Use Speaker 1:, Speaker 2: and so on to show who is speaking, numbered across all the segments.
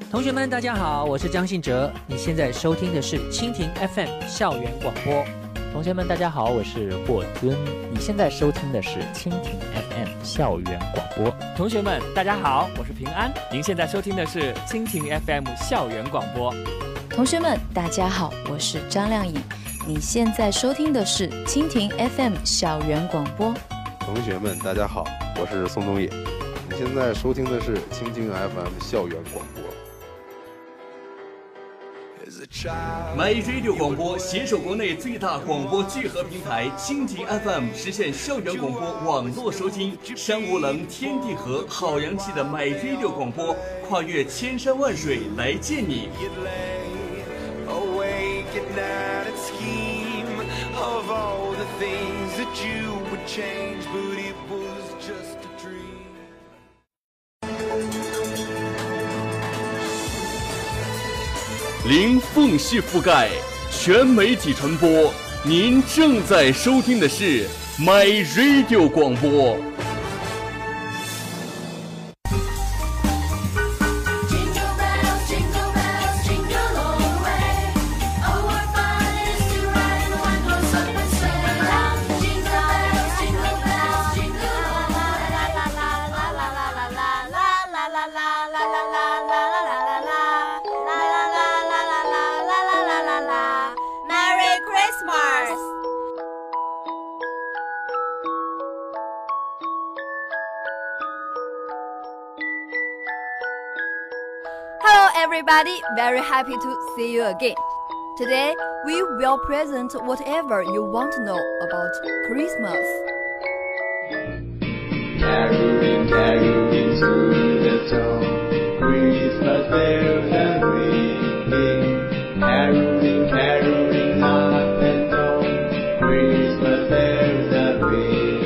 Speaker 1: 同学们大家好，我是张信哲，你现在收听的是蜻蜓 FM 校园广播。
Speaker 2: 同学们大家好，我是霍尊，你现在收听的是蜻蜓 FM 校园广播。
Speaker 3: 同学们大家好，我是平安，您现在收听的是蜻蜓 FM 校园广播。
Speaker 4: 同学们大家好，我是张亮颖，你现在收听的是蜻蜓 FM 校园广播。
Speaker 5: 同学们大家好，我是宋冬野，你现在收听的是蜻蜓 FM 校园广播。
Speaker 6: MyRadio 广播携手国内最大广播聚合平台蜻蜓 FM， 实现校园广播网络收听。山无棱，天地合，好洋气的 MyRadio 广播，跨越千山万水来见你。零缝隙覆盖，全媒体传播。您正在收听的是 MyRadio 广播。
Speaker 7: Everybody, very happy to see you again. Today, we will present whatever you want to know about Christmas.
Speaker 8: Caroling, caroling through the town, Christmas bells are ringing. Caroling, caroling up and down, Christmas bells are ringing.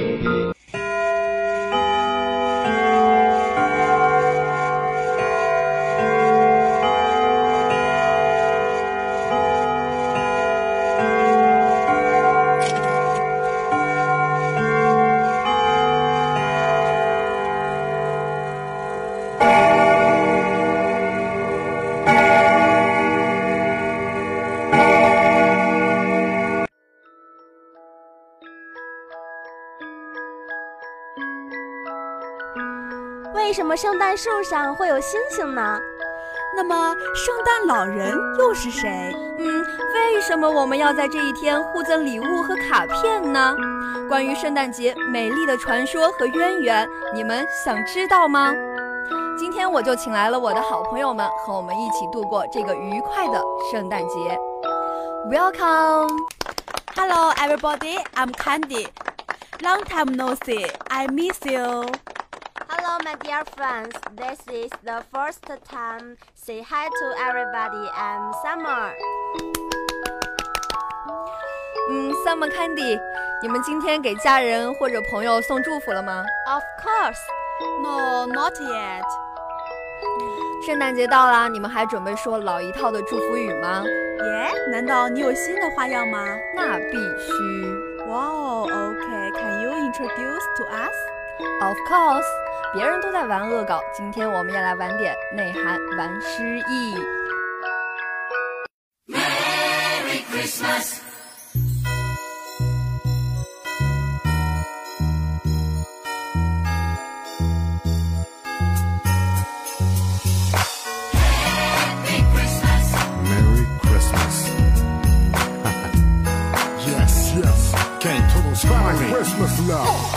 Speaker 9: 为什么圣诞树上会有星星呢？
Speaker 10: 那么圣诞老人又是谁？
Speaker 7: 为什么我们要在这一天互赠礼物和卡片呢？关于圣诞节美丽的传说和渊源，你们想知道吗？今天我就请来了我的好朋友们，和我们一起度过这个愉快的圣诞节。Welcome!
Speaker 10: Hello everybody, I'm Candy. Long time no see, I miss you.
Speaker 9: Hello, my dear friends. This is the first time. Say hi to everybody. I'm Summer.
Speaker 7: Summer Candy， 你们今天给家人或者朋友送祝福了吗？
Speaker 9: Of course.
Speaker 10: No, not yet.
Speaker 7: 圣诞节到啦，你们还准备说老一套的祝福语吗？
Speaker 10: 难道你有新的花样吗？
Speaker 7: 那必须。
Speaker 10: Wow, okay. Can you introduce to us?Of
Speaker 7: course， 别人都在玩恶搞，今天我们也来玩点内涵，玩诗意。
Speaker 8: Merry Christmas。
Speaker 11: Christmas love.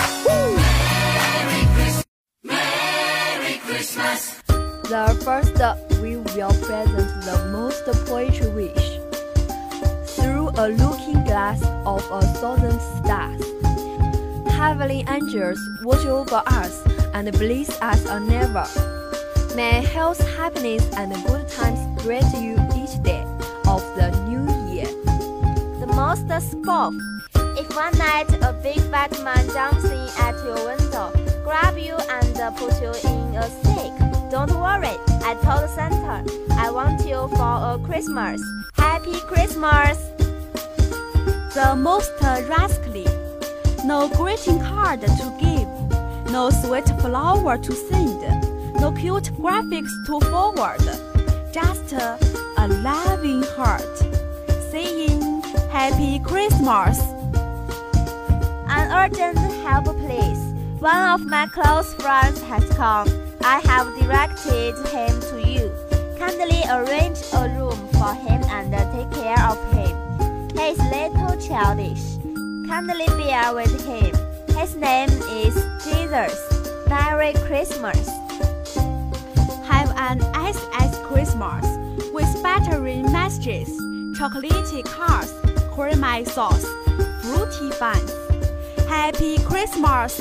Speaker 8: Merry Christmas.
Speaker 7: The first, we will present the most poetry wish. Through a looking glass of 1,000 stars, heavenly angels watch over us and bless us anever. May health, happiness, and good times greet you each day of the new year.
Speaker 9: The most scoff. If one night a big fat man jumps in at your window, grab you and put you in a sack, don't worry, I told Santa, I want you for a Christmas. Happy Christmas!
Speaker 10: The most rascally. No greeting card to give, no sweet flower to send, no cute graphics to forward. just a loving heart, saying Happy Christmas.
Speaker 9: An urgent help, please. One of my close friends has come. I have directed him to you. Kindly arrange a room for him and take care of him. He is little childish. Kindly bear with him. His name is Jesus. Merry Christmas.
Speaker 10: Have an SS Christmas with battery messages, chocolatey cars, creamy sauce, fruity buns. Happy Christmas!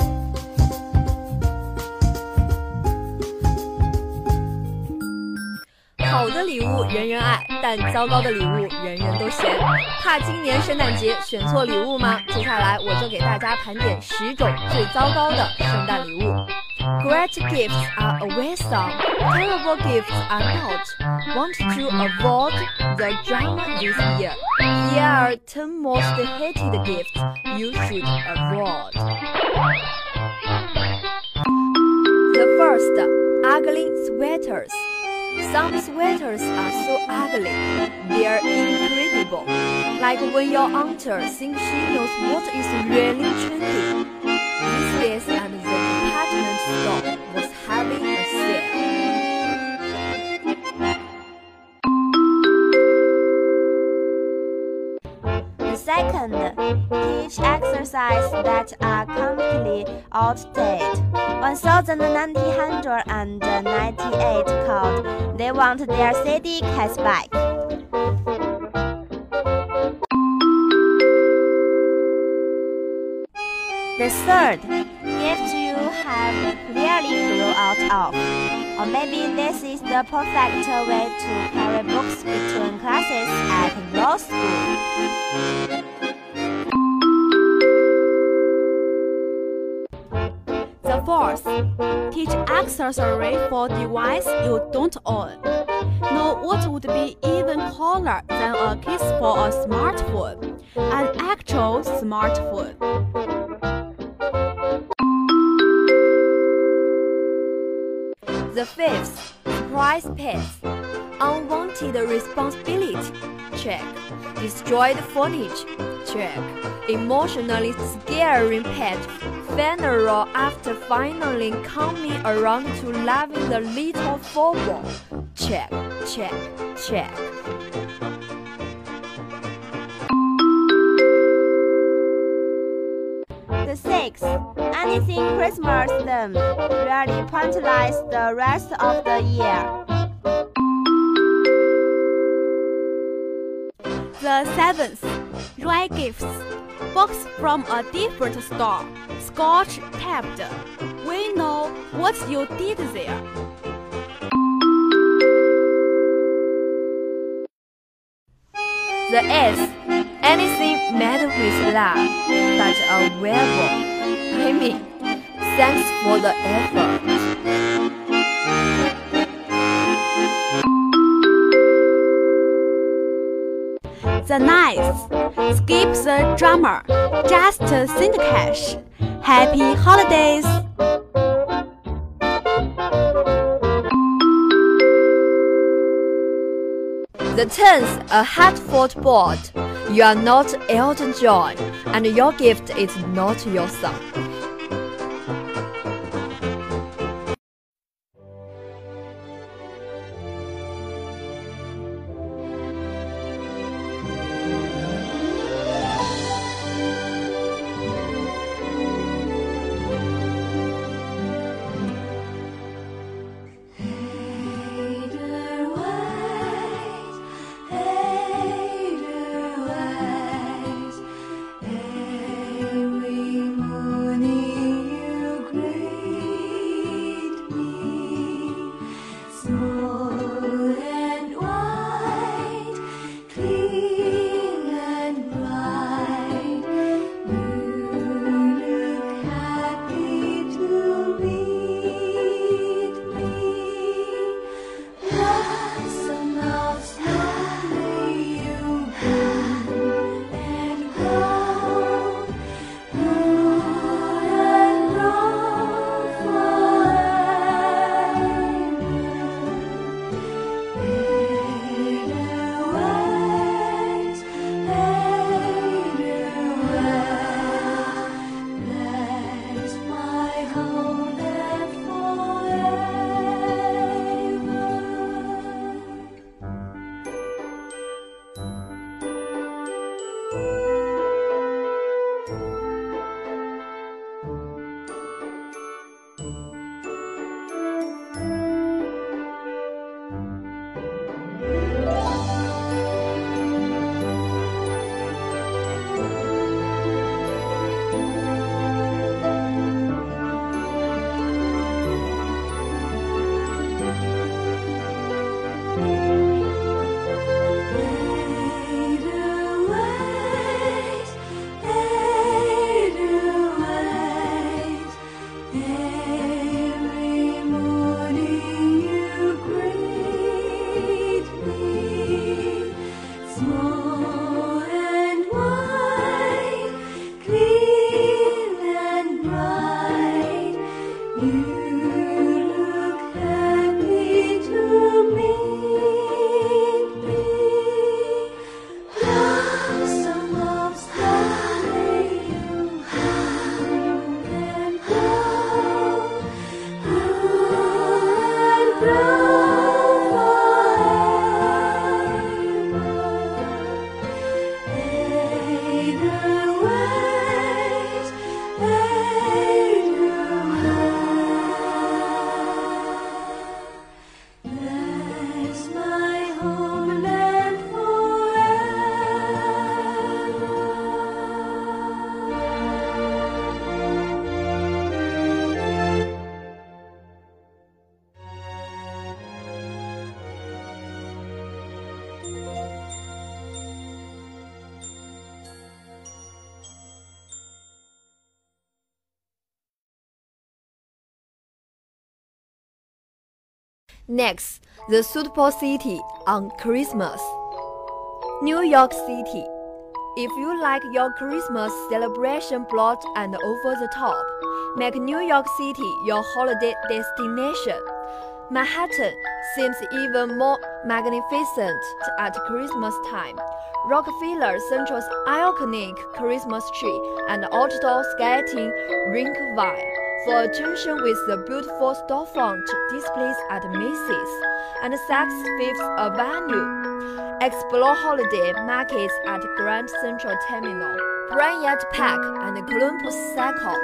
Speaker 7: 好的礼物人人爱，但糟糕的礼物人人都嫌。怕今年圣诞节选错礼物吗？接下来我就给大家盘点10种最糟糕的圣诞礼物。Great gifts are a wisdom, terrible gifts are not. Want to avoid the drama this year? Here are 10 most hated gifts you should avoid. The first, ugly sweaters. Some sweaters are so ugly, they're incredible. Like when your aunt thinks she knows what is really trendy. This and the department store was having a sale.
Speaker 9: The second, teach exercises that are completely outdated. 1998 called They Want Their CD Cats Back. The third, gifts you have clearly grown out of. Or maybe this is the perfect way to carry books between classes at law school.
Speaker 10: The fourth, teach accessory for device you don't own. Know what would be even cooler than a case for a smartphone, an actual smartphone.
Speaker 7: The fifth, surprise pets. Unwanted responsibility. Check. Destroyed furniture. Check. Emotionally scaring pet. Funeral after finally coming around to loving the little football. Check, check, check.
Speaker 9: The sixth, anything Christmas them really pointless the rest of the year.
Speaker 10: The seventh, rare gifts. Box from a different store, scotch taped. We know what you did there.
Speaker 7: The eighth, anything made with love, but available. I mean, thanks for the effort.
Speaker 10: The ninth, skip the drama, just send cash. Happy holidays!
Speaker 7: The 10th, a heartfelt board. You are not Elton John, and your gift is not your song.
Speaker 8: Every moon
Speaker 7: Next, the suitable city on Christmas. New York City. If you like your Christmas celebration broad and over the top, make New York City your holiday destination. Manhattan seems even more magnificent at Christmas time. Rockefeller Central's iconic Christmas tree and outdoor skating rink vie for attention with the beautiful storefront displays at Macy's and Saks Fifth Avenue. Explore holiday markets at Grand Central Terminal, Bryant Park, and Columbus Circle.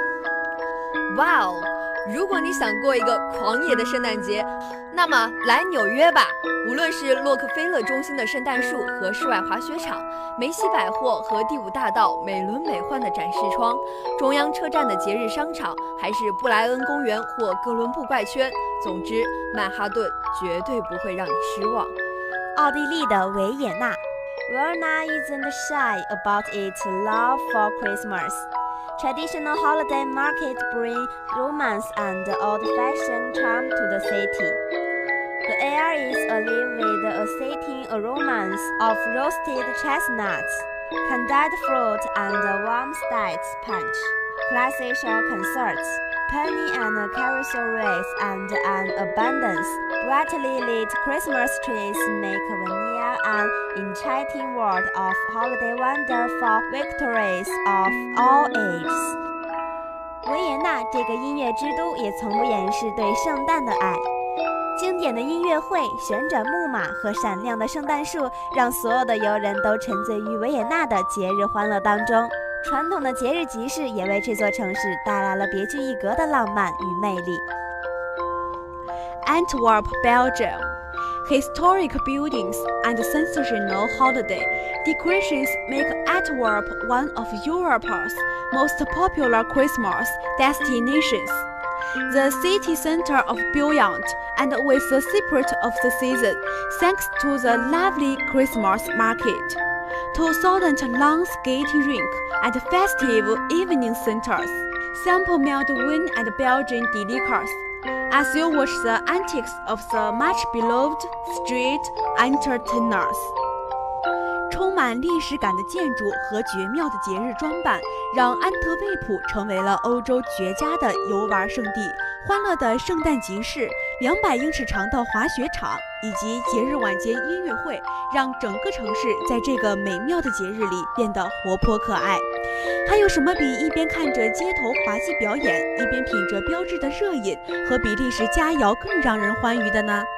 Speaker 7: Wow！ 如果你想过一个狂野的圣诞节，那么来纽约吧！无论是洛克菲勒中心的圣诞树和室外滑雪场，梅西百货和第5大道美轮美奂的展示窗，中央车站的节日商场，还是布莱恩公园或哥伦布怪圈，总之，曼哈顿绝对不会让你失望。
Speaker 9: 奥地利的维也纳 ，Vienna isn't shy about its love for Christmas.Traditional holiday market bring romance and old-fashioned charm to the city. The air is alive with a satin aroma of roasted chestnuts, candied fruit, and warm-style punch. Classical concerts, penny and carousel race, and an abundance brightly lit Christmas trees make Vienna an enchanting world of holiday wonder for victories of all ages. 维也纳这个音乐之都也从不掩饰对圣诞的爱。经典的音乐会、旋转木马和闪亮的圣诞树，让所有的游人都沉醉于维也纳的节日欢乐当中。传统的节日集市也为这座城市带来了别具一格的浪漫与魅力。
Speaker 10: Antwerp, Belgium. Historic buildings and sensational holiday decorations make Antwerp one of Europe's most popular Christmas destinations. The city center of brilliant and with the spirit of the season, thanks to the lively Christmas market, 2,000-long skating rink and festive evening centers. Sample mild wine and Belgian delicats.As you watch the antics of the much-beloved street entertainers， 充满历史感的建筑和绝妙的节日装扮，让安特卫普成为了欧洲绝佳的游玩胜地。欢乐的圣诞集市、200英尺长的滑雪场以及节日晚间音乐会，让整个城市在这个美妙的节日里变得活泼可爱。还有什么比一边看着街头滑稽表演，一边品着标志的热饮和比利时佳肴更让人欢愉的呢？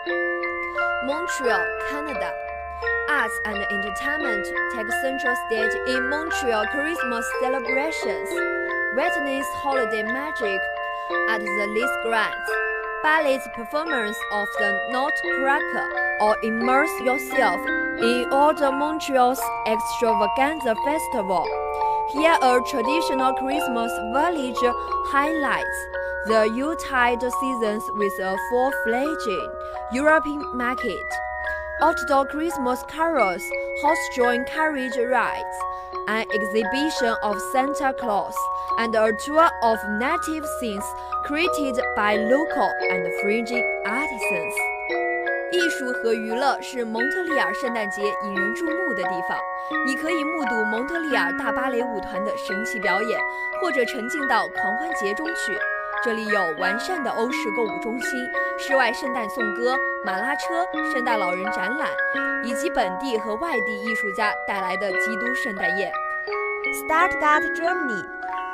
Speaker 7: Montreal, Canada. Arts and entertainment take central stage in Montreal Christmas celebrations. Witness holiday magic at the Lis Grands, ballet's performance of the Nutcracker, or immerse yourself in all the Montreal's extravaganza festival. Here a traditional Christmas village highlights the Yuletide seasons with a full-fledged European market, outdoor Christmas carols, horse-drawn carriage rides, an exhibition of Santa Claus, and a tour of native scenes created by local and fringe artisans. 艺术和娱乐是蒙特利尔圣诞节引人注目的地方。你可以目睹蒙特利尔大芭蕾舞团的神奇表演，或者沉浸到狂欢节中去。这里有完善的欧式购物中心、室外圣诞颂歌、马拉车、圣诞老人展览，以及本地和外地艺术家带来的基督圣诞夜。
Speaker 9: Stuttgart, Germany.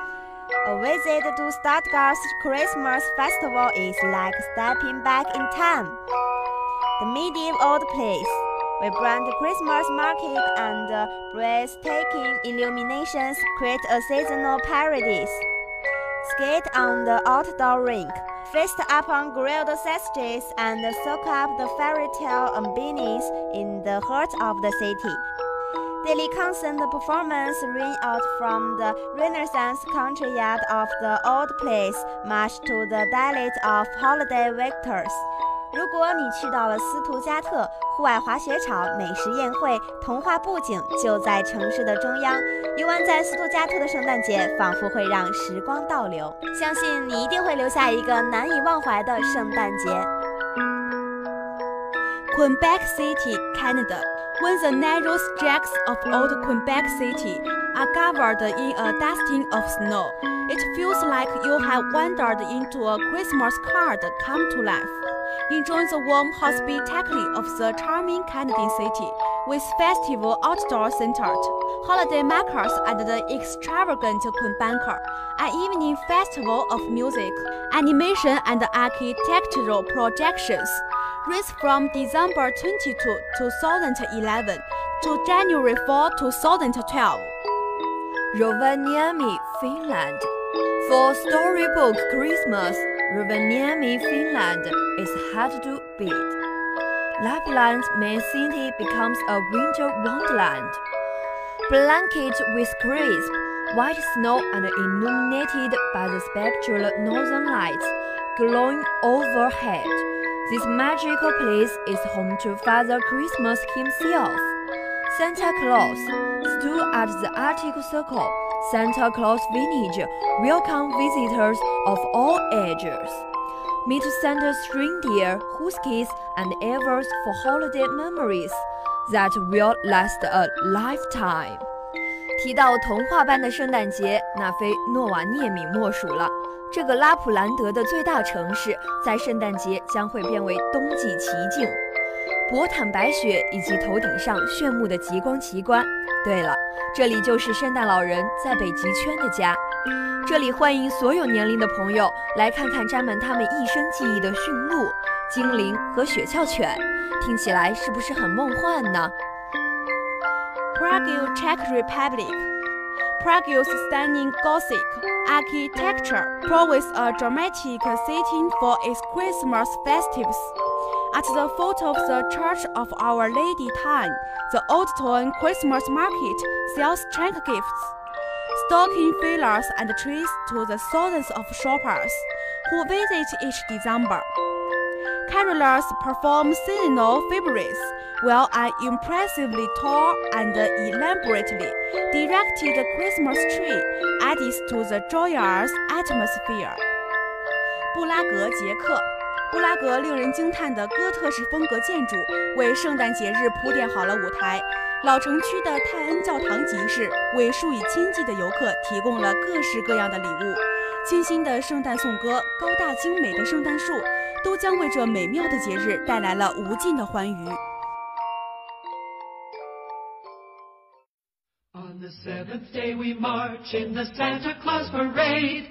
Speaker 9: A visit to Stuttgart's Christmas festival is like stepping back in time. The medieval old place, vibrant Christmas market and breathtaking illuminations create a seasonal paradise. Skate on the outdoor rink, feast upon grilled sausages, and soak up the fairy tale ambience in the heart of the city. Daily concert performance ring out from the Renaissance country yard of the old place, much to the delight of holiday victors. 如果你去到了斯图加特，户外滑雪场、美食宴会、童话布景就在城市的中央。游玩在斯图加特的圣诞节，仿佛会让时光倒流。相信你一定会留下一个难以忘怀的圣诞节。
Speaker 10: Quebec City, Canada. When the narrow stretches of old Quebec City are covered in a dusting of snow, it feels like you have wandered into a Christmas card come to life. Enjoy the warm hospitality of the charming Canadian city, with festival outdoor centered, holiday markers and the extravagant Quebecer, an evening festival of music, animation and architectural projections, runs from December 22, 2011 to January 4, 2012.
Speaker 7: Rovaniemi, Finland. For Storybook Christmas, Rovaniemi, Finland is hard to beat. Lapland's main city becomes a winter wonderland. Blanketed with crisp, white snow and illuminated by the spectral northern lights glowing overhead, this magical place is home to Father Christmas himself. Santa Claus, stood at the Arctic Circle, Santa Claus Village welcome visitors of all ages. Meet Santa's reindeer, huskies, and elves for holiday memories that will last a lifetime. 提到童话般的圣诞节，那非诺瓦涅米莫属了。这个拉普兰德的最大城市，在圣诞节将会变为冬季奇境，博坦白雪以及头顶上炫目的极光奇观。对了，这里就是圣诞老人在北极圈的家。这里欢迎所有年龄的朋友来看看沾满他们一生记忆的驯鹿、精灵和雪橇犬，听起来是不是很梦幻呢？
Speaker 10: Prague, Czech Republic. Prague's stunning Gothic architecture provides a dramatic setting for its Christmas festivities. At the foot of the Church of Our Lady Town, the Old Town Christmas Market sells trunk gifts, stocking fillers and trees to the thousands of shoppers who visit each December. Carolers perform seasonal favorites, while an impressively tall and elaborately decorated Christmas tree adds to the joyous atmosphere. 布拉格，捷克。布拉格令人惊叹的哥特式风格建筑为圣诞节日铺垫好了舞台。老城区的泰恩教堂集市为数以千计的游客提供了各式各样的礼物。清新的圣诞颂歌、高大精美的圣诞树，都将为这美妙的节日带来了无尽的欢愉。
Speaker 8: On the seventh day we march in the Santa Claus parade.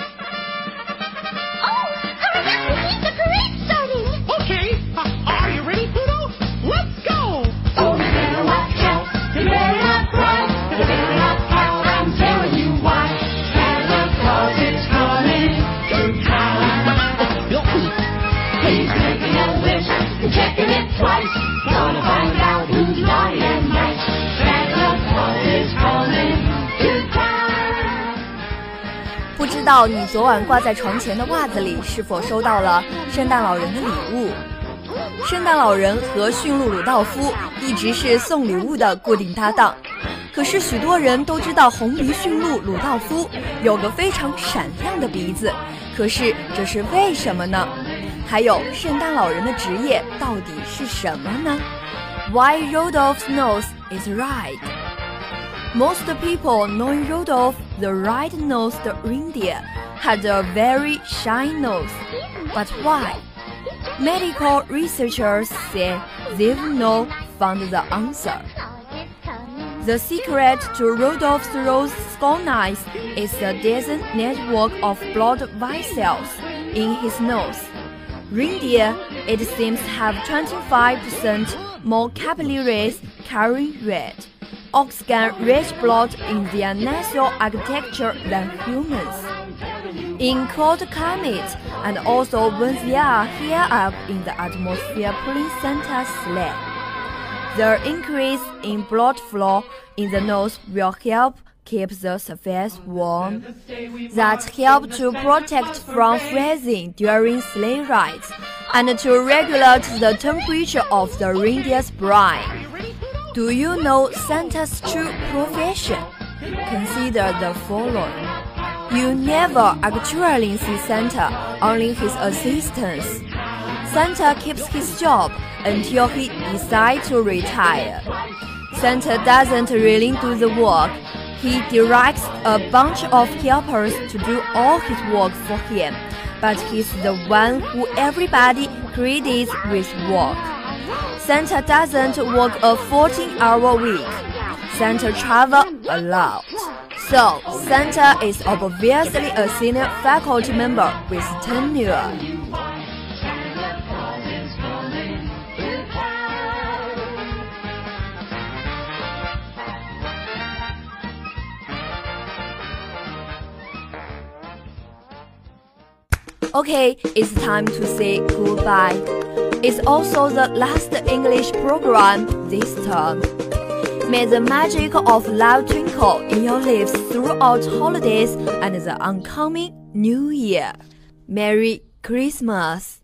Speaker 11: The parade's starting! Okay, are you ready, Pluto? Let's go!
Speaker 8: Oh, you better watch out, you better not cry, you better not pout, I'm telling you why. Santa Claus is coming to town. He's making a list and checking it twice, gonna find out who's naughty and nice. Santa Claus is coming to town.
Speaker 7: 不知道你昨晚挂在床前的袜子里是否收到了圣诞老人的礼物？圣诞老人和驯鹿鲁道夫一直是送礼物的固定搭档。可是许多人都知道红鼻驯鹿鲁道夫有个非常闪亮的鼻子，可是这是为什么呢？还有圣诞老人的职业到底是什么呢？ Why Rudolph's nose is red? Most people knowing Rudolph the red-nosed reindeer had a very shiny nose. But why? Medical researchers say they've not found the answer. The secret to Rudolph's rose skull eyes is a dense network of blood vessels in his nose. Reindeer, it seems, have 25% more capillaries carrying red.Oxygen-rich blood in their nasal architecture than humans. In cold climates, and also when they are high up in the atmosphere pulling Santa's sleigh, the increase in blood flow in the nose will help keep the surface warm. That help to protect from freezing during sleigh rides, and to regulate the temperature of the reindeer's brain.Do you know Santa's true profession? Consider the following. You never actually see Santa, only his assistants. Santa keeps his job, until he decides to retire. Santa doesn't really do the work. He directs a bunch of helpers to do all his work for him, but he's the one who everybody credits with work. Santa doesn't work a 14-hour week. Santa travels a lot. So, Santa is obviously a senior faculty member with tenure. Okay, it's time to say goodbye. It's also the last English program this term. May the magic of love twinkle in your lives throughout holidays and the oncoming New Year. Merry Christmas!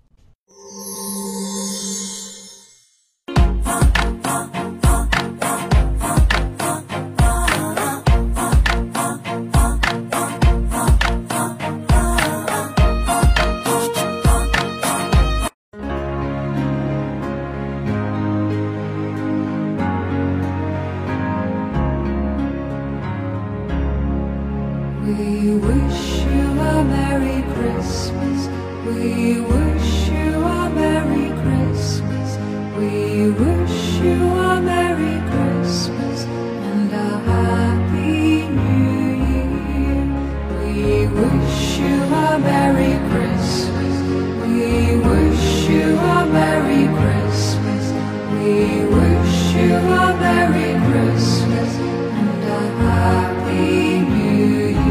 Speaker 12: We wish you a Merry Christmas. We wish you a Merry Christmas. We wish you a Merry Christmas and a Happy New Year. We wish you a Merry Christmas. We wish you a Merry Christmas. We wish you a Merry Christmas and a Happy New Year.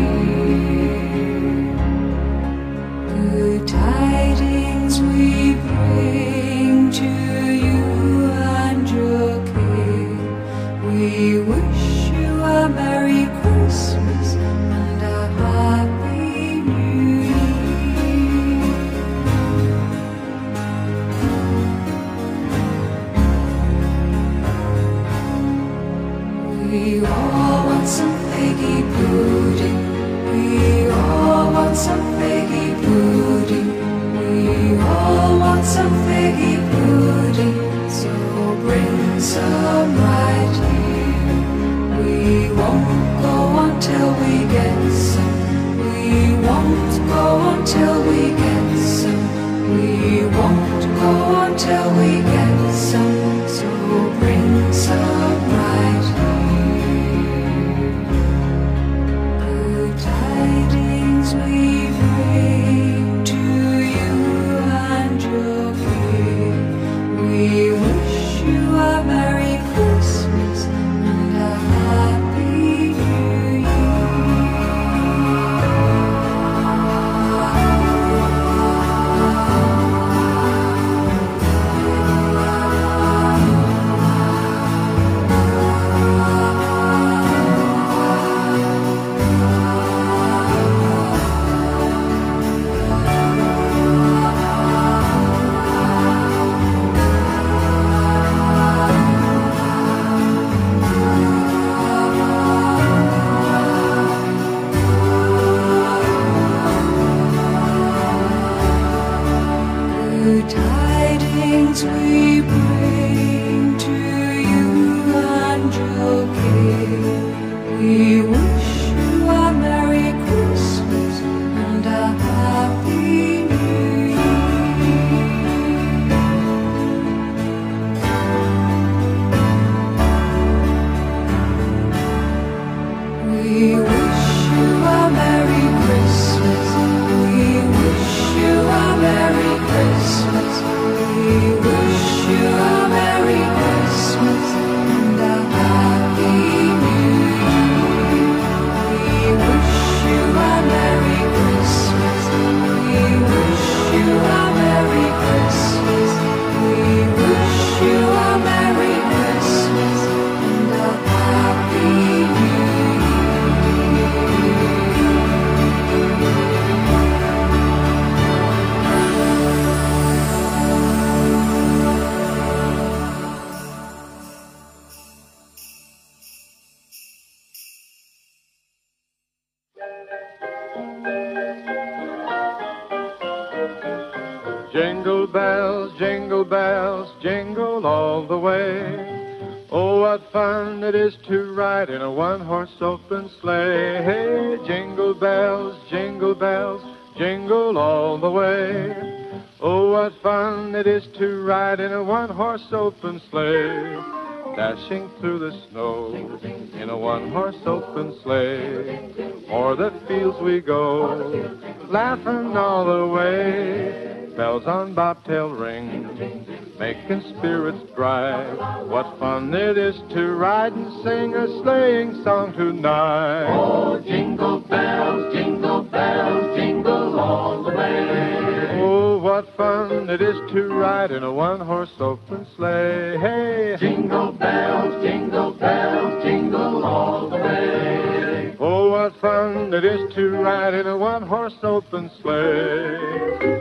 Speaker 12: Good tidings we bring to you and your King. We wish you a Merry Christmas and a Happy New Year. We all want some figgy pudding. We all want some figgy pudding. We all want some figgy pudding. So bring some right here. We won't go until we get some. We won't go until we get some. We won't go until we get some. So bring some right here. Good tidings we bring to you and your King. We wish you a Merry Christmas and a Happy New Good tidings we bring to you and your King. We wish you a Merry Christmas and a Happy New Year. We wish you a Merry Christmas. We wish you a Merry Christmas. We wish
Speaker 13: Jingle bells, jingle all the way. Oh, what fun it is to ride in a one-horse open sleigh. Hey, jingle bells, jingle all the way. Oh, what fun it is to ride in a one-horse open sleigh. Dashing through the snow in a one-horse open sleigh. O'er the fields we go, laughing all the way. Bells on bobtail ring, making spirits bright. What fun it is to ride and sing a sleighing song tonight.
Speaker 8: Oh, jingle bells, jingle all the way.
Speaker 13: Oh, what fun it is to ride in a one-horse open sleigh. Hey,
Speaker 8: jingle bells, jingle all the way.
Speaker 13: Oh, what fun it is to ride in a one-horse open sleigh.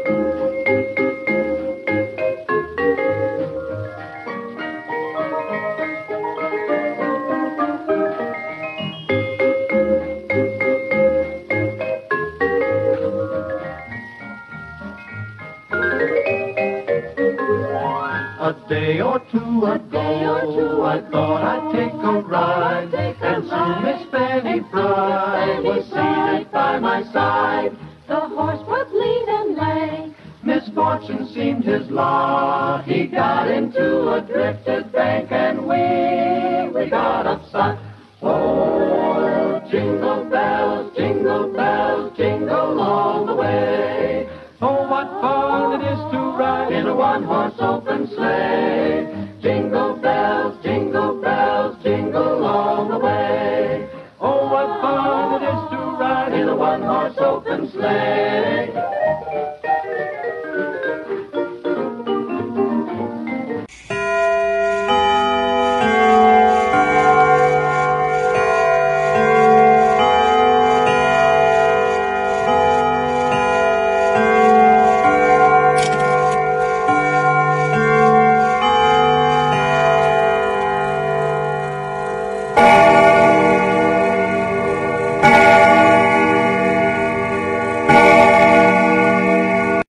Speaker 8: A day or two ago, I thought I'd take a ride, and soon Miss Fanny Bride was seated by my side.
Speaker 11: The horse was lean and lame.
Speaker 8: Misfortune seemed his lot. He got into a drifted bank, and we got upset. Oh, jingle bells, jingle all the way.
Speaker 13: Oh, what fun it is to ride
Speaker 8: in a one-horse open sleigh. Jingle bells, jingle all the way.
Speaker 13: Oh, what fun it is to ride
Speaker 8: in a one-horse open sleigh.